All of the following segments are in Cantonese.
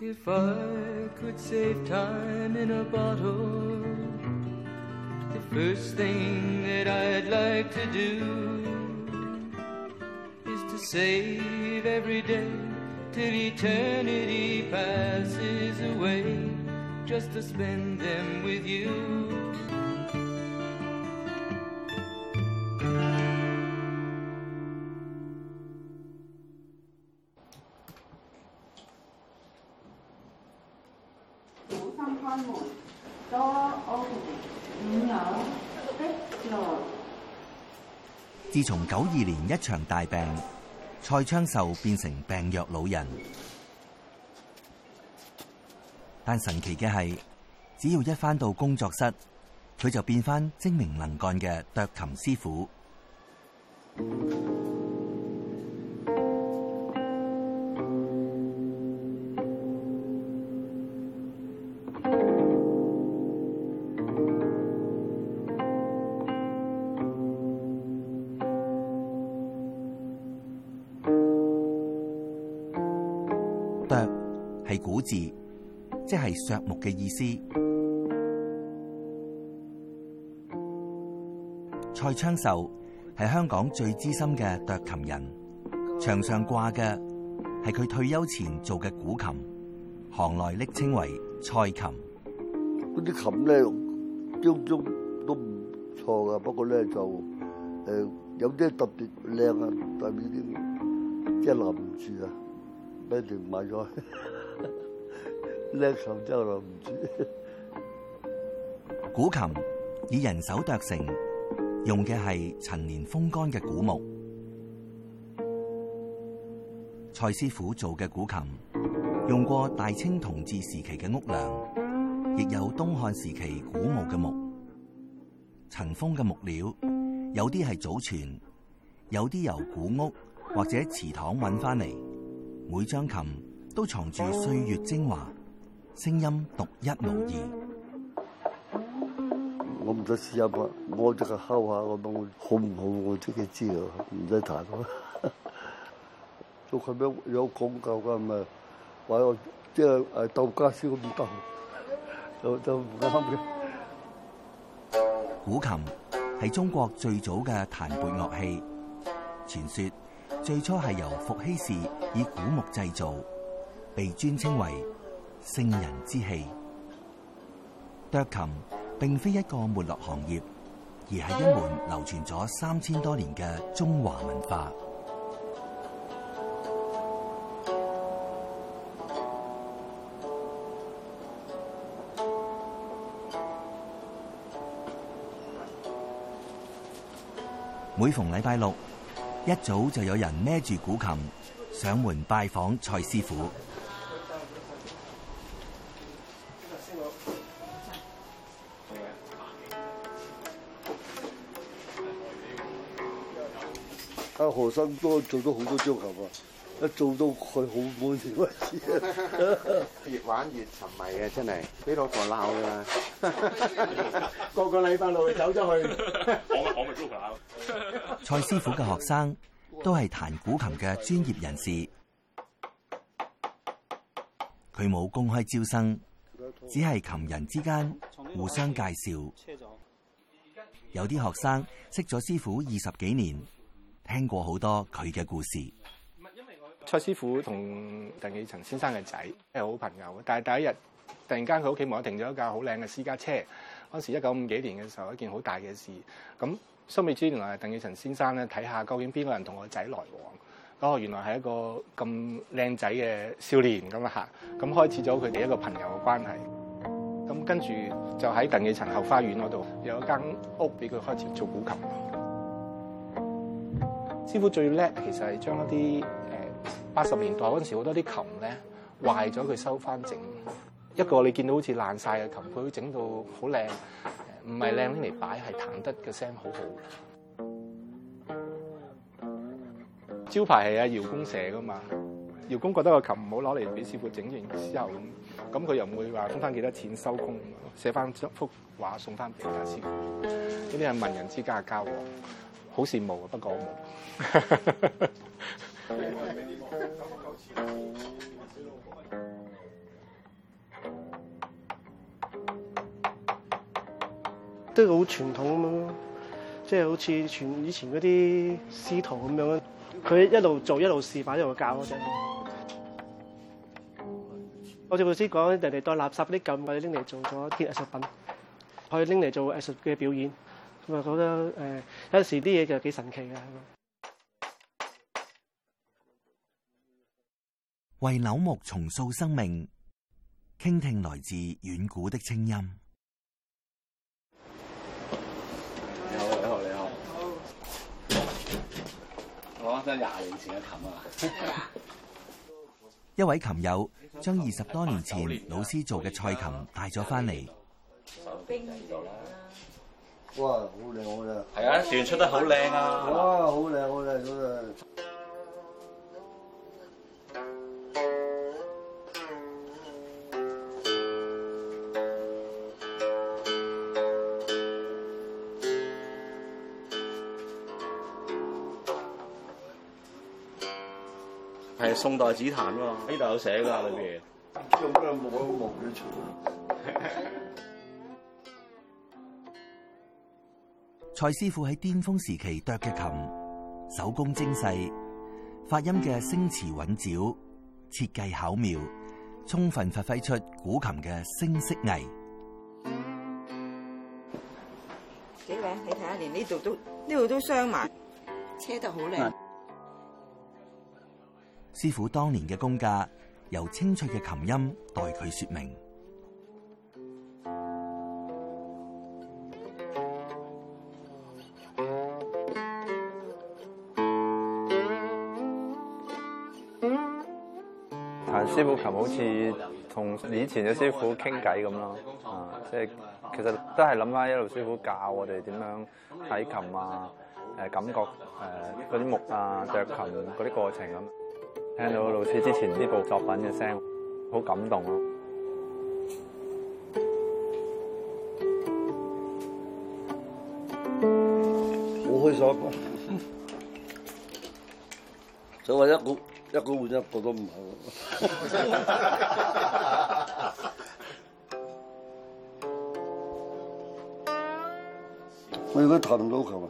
If I could save time in a bottle, the first thing that I'd like to do is to save every day till eternity passes away, just to spend them with you. 自從92年一場大病，蔡昌壽變成病弱老人。但神奇嘅係，只要一返到工作室，佢就變返精明能幹嘅斲琴師傅。斲係古字，即係削木嘅意思。蔡昌壽係香港最資深嘅斲琴人，牆上掛嘅係佢退休前做嘅古琴，行內昵稱為蔡琴。 嗰啲琴咧，張張都唔錯噶，不過咧就有啲特別靚啊，特別啲即係留唔住啊。俾條買咗，叻琴真係留唔住。 古琴以人手斲成，用嘅係陳年風乾嘅古木。蔡師傅做嘅古琴，用過大清同治時期嘅屋梁，亦有東漢時期古墓嘅木。塵封嘅木料，有啲係祖傳，有啲由古屋或者祠堂揾翻嚟。每張琴都藏住歲月精華，聲音獨一無二。 我唔使試下嘛，我只係敲下咁樣，好唔好我自己知啊，唔使彈咯。做琴樣有講究㗎，唔係話我即係鬥家師咁鬥，就唔啱嘅。 古琴係中國最早嘅彈撥樂器，傳說最初係由伏羲氏以古木製造，被尊稱為聖人之器。斲琴並非一個沒落行業，而係一門流傳咗3000多年嘅中華文化。每逢禮拜六，一早就有人孭住古琴上門拜訪蔡師傅。 阿何生都做咗好多張琴啊，一做到佢好滿意為止。 越玩越沉迷嘅，真係俾老婆鬧㗎啦！個禮拜六走咗去，我咪租佢。 蔡師傅嘅學生都係彈古琴嘅專業人士，佢冇公開招生，只係琴人之間互相介紹。有啲學生識咗師傅20幾年，聽過好多佢嘅故事。 蔡師傅同鄧寄塵先生嘅仔係好朋友，但係第一日突然間佢屋企門口停咗一架好靚嘅私家車。嗰時1950幾年嘅時候，一件好大嘅事。咁蘇美珠原來係鄧寄塵先生咧，睇下究竟邊個人同我仔來往。哦，原來係一個咁靚仔嘅少年咁啊嚇。咁開始咗佢哋一個朋友嘅關係。咁跟住就喺鄧寄塵後花園嗰度有一間屋俾佢開始做古琴。師傅最叻其實係將一啲80年代嗰陣時好多啲琴咧壞咗，佢收翻整。一個你見到好似爛晒嘅琴，佢會整到好靚，唔係靚拎嚟擺，係彈得嘅聲好好。招牌係阿姚公寫噶嘛，姚公覺得個琴唔好攞嚟俾師傅整完之後咁佢又唔會話分翻幾多錢收工，寫翻幅畫送翻俾阿師傅。呢啲係文人之間嘅交往，好羨慕啊，不過我冇。 都好傳統咁樣咯，即係好似以前嗰啲師徒咁樣，佢一路做一路示範一路教嗰陣。好似老師講，人哋當垃圾啲咁，我哋拎嚟做咗一件藝術品，可以拎嚟做藝術嘅表演，咁啊覺得有陣時啲嘢就幾神奇嘅。 為柳木重塑生命，傾聽來自遠古的清音。 你好，你好，你好。攞翻真20年前嘅琴啊！ 一位琴友將20多年前老師做嘅菜琴帶咗翻嚟。 哇，好靚好靚！ 係啊，旋出得好靚啊！ 哇，好靚好靚真係。 係宋代紫檀喎，呢度有寫㗎裏邊。 用咩木嘅出？ 蔡師傅喺巔峰時期剁嘅琴，手工精細，發音嘅聲詞韻腳，設計巧妙，充分發揮出古琴嘅聲色藝。 幾靚，你睇下，連呢度都鑲埋，車得好靚。 師傅當年嘅功架，由清脆嘅琴音代佢說明。 彈師傅琴好似同以前嘅師傅傾偈咁咯，即係其實都係諗翻一路師傅教我哋點樣睇琴啊，感覺嗰啲木啊、剁琴嗰啲過程咁。聽到老師之前呢部作品嘅聲，好感動咯。 好開心，就話一個換一個都唔係。我而家彈唔到琴啊！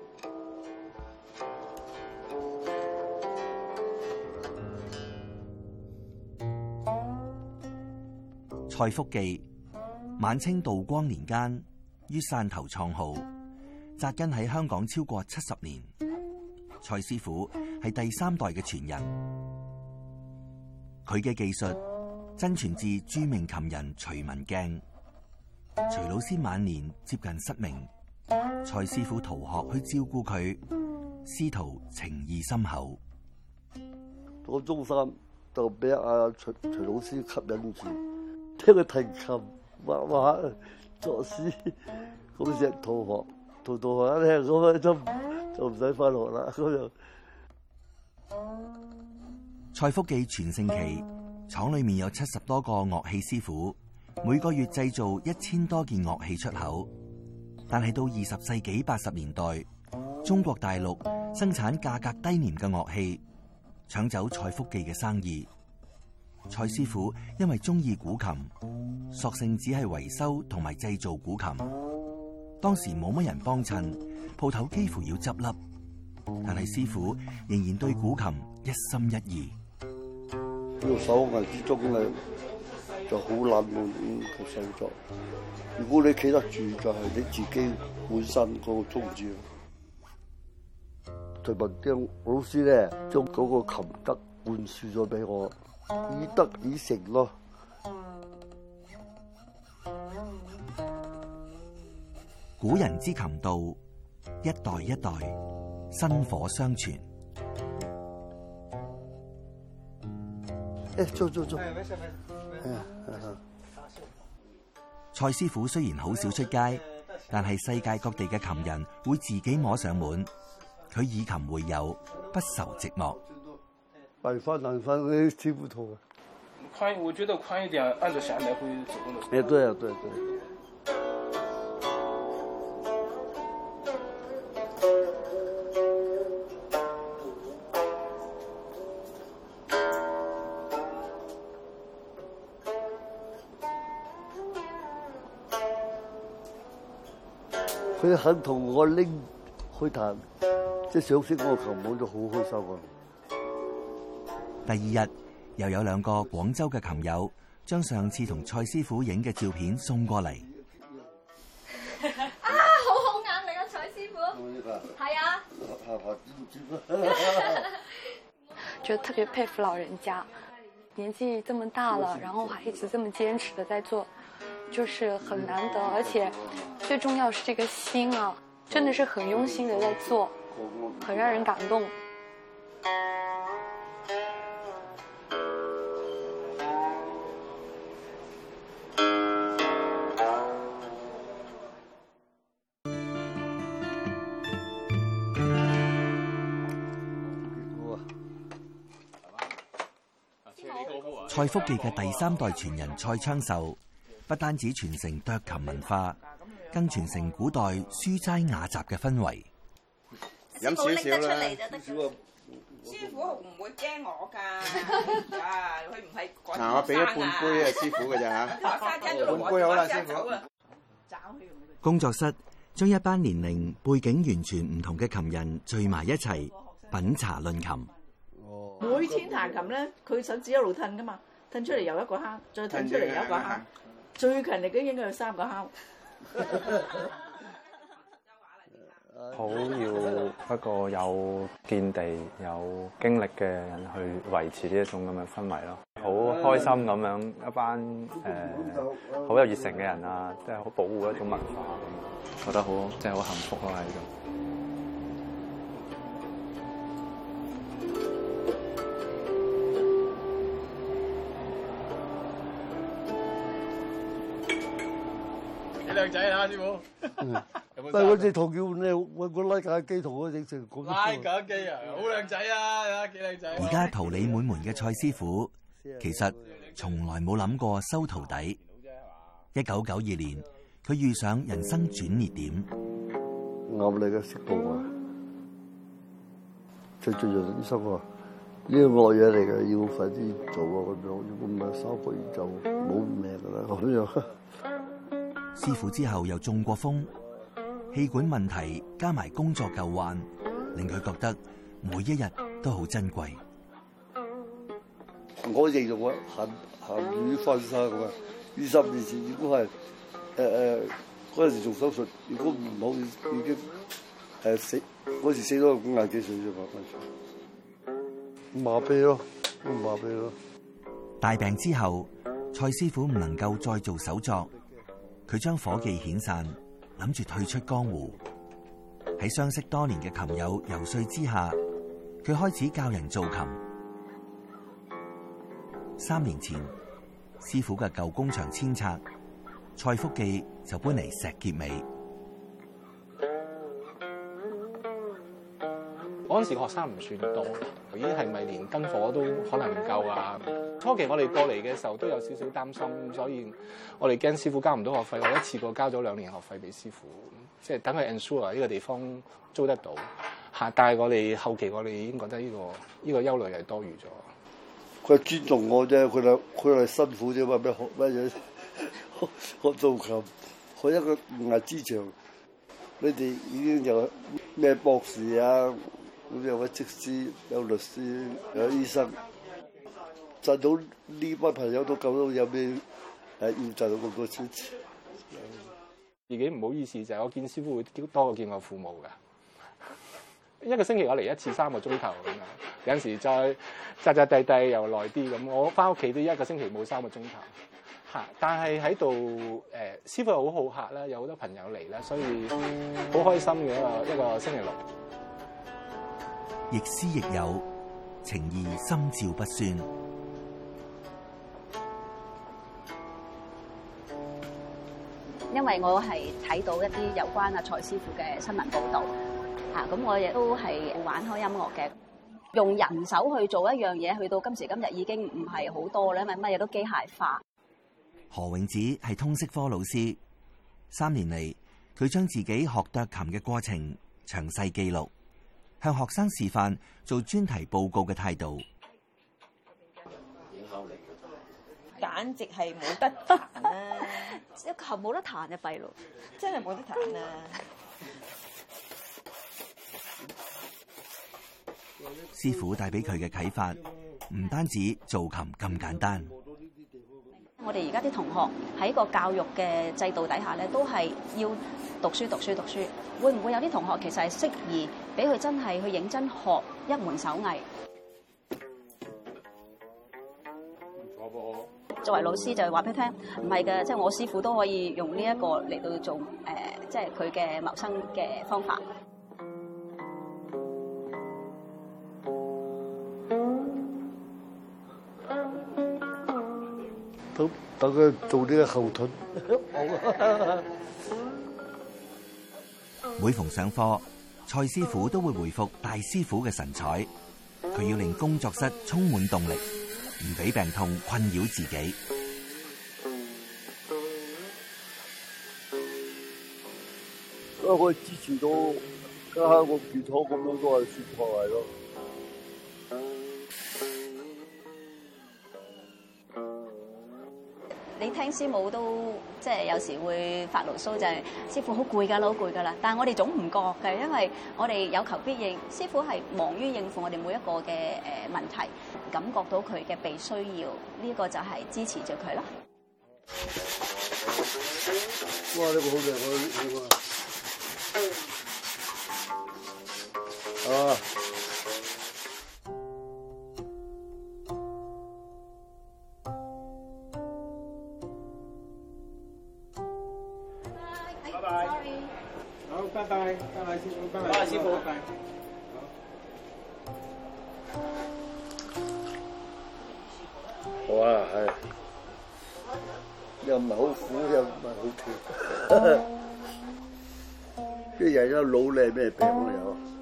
蔡福記，晚清道光年間於汕頭創號，紮根喺香港超過70年。蔡師傅係第3代嘅傳人，佢嘅技術真傳自著名琴人徐文鏡。徐老師晚年接近失明，蔡師傅逃學去照顧佢，師徒情誼深厚。 到中3就俾阿徐老師吸引住。聽佢彈琴、畫畫、作詩，嗰時逃學一聽咁樣就唔使返學啦。咁就蔡福記全盛期，廠裏面有70多個樂器師傅，每個月製造1000多件樂器出口。但係到20世紀80年代，中國大陸生產價格低廉嘅樂器，搶走蔡福記嘅生意。蔡師傅因為中意古琴，索性只係維修同埋製造古琴。當時冇乜人幫襯，鋪頭幾乎要執笠。但係師傅仍然對古琴一心一意。 呢個手藝之中咧就好冷門嘅製作。如果你企得住，就係你自己本身嗰個宗旨。徐文鏡老師咧，將嗰個琴德灌輸咗俾我。以德以誠咯。 古人之琴道，一代一代薪火相傳。 做。 蔡師傅雖然好少出街，但係世界各地嘅琴人會自己摸上門。佢以琴會友，不愁寂寞。 難翻啲師傅圖啊！ 我覺得寬一點，按着弦來回走動的。 哎，對啊，對。 佢肯同我拎去彈，即係賞識我琴，我就好開心啊！ 第二日又有2個廣州嘅琴友將上次同蔡師傅影嘅照片送過嚟。 啊，好好眼力啊，蔡師傅。係啊。 覺得特別佩服老人家，年紀這麼大了，然後還一直這麼堅持的在做，就是很難得，而且最重要是這個心啊，真的是很用心的在做，很讓人感動。 蔡福記嘅第3代傳人蔡昌壽，不單止傳承斲琴文化，更傳承古代書齋雅集嘅氛圍。 飲少少啦。 師傅唔會驚我㗎，佢唔係趕嗱，我俾咗半杯啊，師傅嘅咋嚇？半杯好啦，師傅。 工作室將一班年齡背景完全唔同嘅琴人聚埋一齊品茶論琴。 每天彈琴咧，佢手指一路褪噶嘛，褪出嚟又一個敲，再褪出嚟又一個敲，最勤力嘅應該有3個敲。 好要一個有見地、有經歷嘅人去維持呢一種咁嘅氛圍咯。好開心咁樣一班好有熱誠嘅人啊，即係好保護一種文化，覺得好即係好幸福咯喺度。 幾靚仔啊，師傅！ 但係嗰隻唐叫咧，揾個拉架機同我整成咁。 拉架機啊，好靚仔啊，幾靚仔！ 而家桃李滿門嘅蔡師傅，其實從來冇諗過收徒弟。1992年，佢遇上人生轉捩點。 壓力嘅識報啊！最醫生話：呢個惡嘢嚟嘅，要快啲做啊！咁樣，如果唔係3個月就冇命㗎啦！咁樣。 師傅之後又中過風，氣管問題加埋工作舊患，令佢覺得每一日都好珍貴。 我形容我鹹魚翻生咁啊！20年前如果係嗰陣時做手術，如果唔好已經死，嗰時死咗50幾歲啫嘛，麻痹咯，麻痹咯。 大病之後，蔡師傅唔能夠再做手作。佢將夥計遣散，諗住退出江湖。喺相識多年嘅琴友游說之下，佢開始教人做琴。3年前，師傅嘅舊工場遷拆，蔡福記就搬嚟石硤尾。 嗰陣時學生唔算多，咦係咪連燈火都可能唔夠啊？初期我哋過嚟嘅時候都有少少擔心，所以我哋驚師傅交唔到學費，我一次過交咗2年學費俾師傅，即係等佢 ensure 呢個地方租得到。但係我哋後期我哋已經覺得呢個憂慮係多餘咗。 佢尊重我啫，佢係辛苦啫嘛，咩學乜嘢？學做琴，學一個牙之長，你哋已經有咩博士啊？咁有位則師，有律師，有醫生，賺到呢班朋友都夠到有咩要賺到咁多錢？自己唔好意思就係我見師傅會多過見我父母㗎。一個星期我嚟1次3個鐘頭咁樣，有陣時再扎地又耐啲咁。我翻屋企都1個星期冇3個鐘頭。但係喺度師傅又好好客啦，有好多朋友嚟啦，所以好開心嘅一個星期六。 亦師亦友，情義心照不宣。 因為我係睇到一啲有關阿蔡師傅嘅新聞報導，咁我亦都係玩開音樂嘅，用人手去做一樣嘢，去到今時今日已經唔係好多啦，因為乜嘢都機械化。 何永子係通識科老師，3年嚟，佢將自己學斲琴嘅過程詳細記錄，向學生示範做專題報告嘅態度。 簡直係冇得彈啊！ 一琴冇得彈就弊咯， 真係冇得彈啊！ 師傅帶俾佢嘅啟發，唔單止做琴咁簡單。 我哋而家啲同學喺個教育嘅制度底下咧，都係要讀書。會唔會有啲同學其實係適宜俾佢真係去認真學一門手藝？作為老師就係話俾佢聽，唔係嘅，即係我師傅都可以用呢一個嚟到做即係佢嘅謀生嘅方法。 等佢做呢個後盾。 每逢上課，蔡師傅都會回復大師傅嘅神采。佢要令工作室充滿動力，唔俾病痛困擾自己。 因為我支持到家下個健康咁樣都係算破壞咯。 你聽師母都即係有時會發牢騷，就係師傅好攰㗎啦，好攰㗎啦。但係我哋總唔覺嘅，因為我哋有求必應，師傅係忙於應付我哋每一個嘅問題，感覺到佢嘅被需要，呢個就係支持住佢咯。 哇！呢個好靚啊！ 拜拜，師傅，拜拜，師傅，拜拜。 好啊，係，又唔係好苦，又唔係好甜。啲人一老咧咩病都有。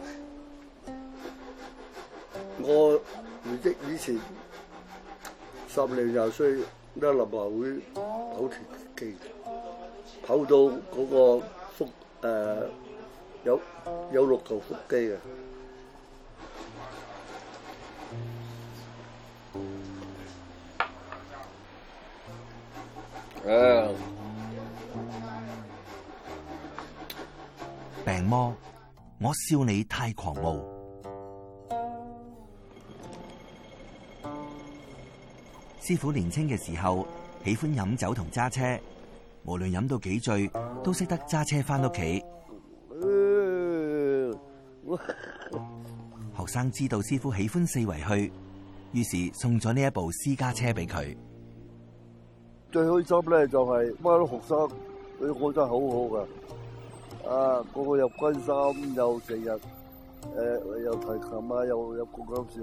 我唔知以前10零20歲，一立華會跑田徑，跑到嗰個腹有6嚿腹肌嘅。 病魔，我笑你太狂傲。師傅年輕嘅時候喜歡飲酒同揸車，無論飲到幾醉，都識得揸車返屋企。學生知道師傅喜歡四圍去，於是送咗呢一部私家車俾佢。 最開心咧就係班學生，佢個真係好好噶，個個又關心，又成日又提琴啊，又講搞笑。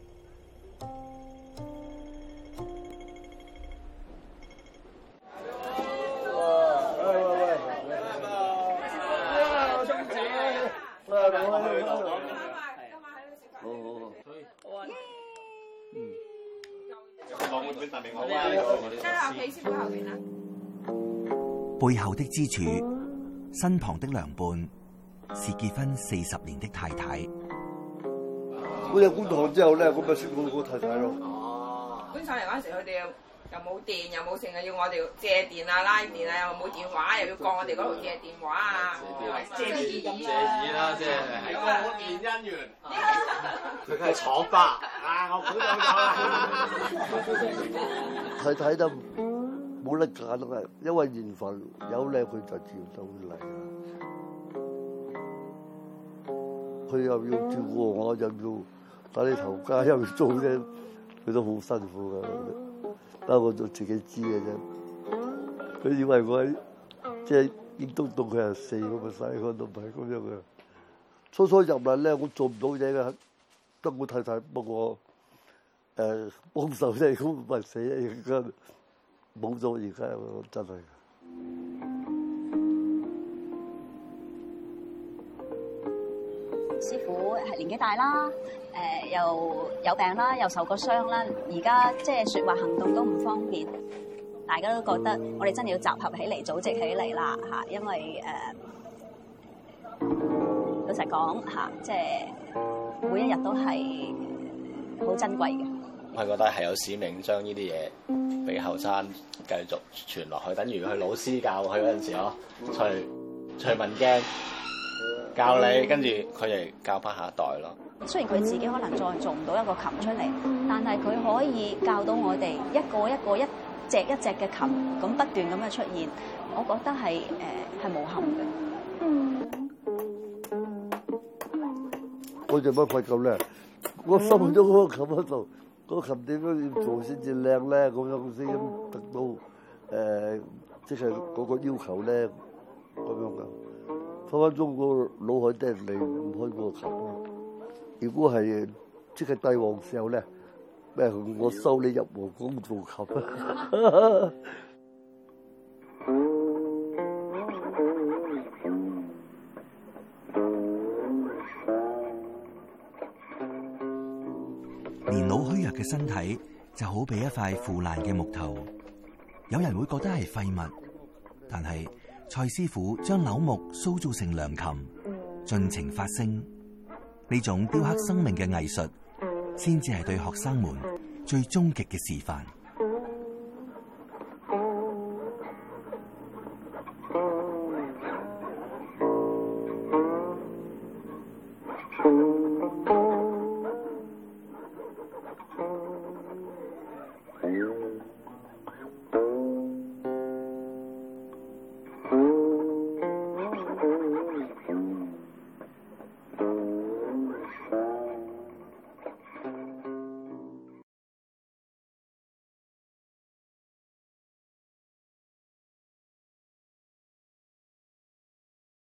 背後的支柱，身旁的良伴，是結婚40年的太太。 我入觀塘之後咧，咁咪識到個太太咯。 搬上嚟嗰陣時，佢哋又冇電，又冇成日要我哋借電啊、拉電啊，又冇電話，又要過我哋嗰度借電話啊，借電咁啦，即係喺個電姻緣。佢係廠爸我估到咗。 太太都冇得揀咯，因為緣分有咧，佢就自然就會嚟啦。佢又要照顧我，又要打理頭家，又要做咧，佢都好辛苦噶。不過就自己知嘅啫。佢以為我即係應督到佢係4個細個都唔係咁樣嘅。初入嚟咧，我做唔到嘢嘅，得我太太幫我幫手啫，咁唔係死而家冇咗而家真係。 師傅係年紀大啦，又有病啦，又受過傷啦，而家即係説話行動都唔方便，大家都覺得我哋真係要集合起嚟，組織起嚟啦嚇，因為老實講嚇，即係每一日都係好珍貴嘅。 我係覺得係有使命將呢啲嘢俾後生繼續傳落去，等於佢老師教佢嗰陣時咯，徐文鏡。 教你，跟住佢哋教翻下一代咯。 雖然佢自己可能再做唔到一個琴出嚟，但係佢可以教到我哋一個一個、一隻一隻嘅琴咁不斷咁嘅出現，我覺得係無憾嘅。 我做乜費咁咧？我收咗嗰個琴喺度，嗰個琴點樣要做先至靚咧？咁樣先得到即係嗰個要求咧，咁樣嘅。分分鐘個腦海釘離唔開嗰個琴。如果係即係帝王時候咧，咩我收你入皇宮做琴啊！ 年老虛弱嘅身體就好比一塊腐爛嘅木頭，有人會覺得係廢物，但係蔡師傅將柳木塑造成良琴，盡情發聲，呢種雕刻生命嘅藝術，先至係對學生們最終極嘅示範。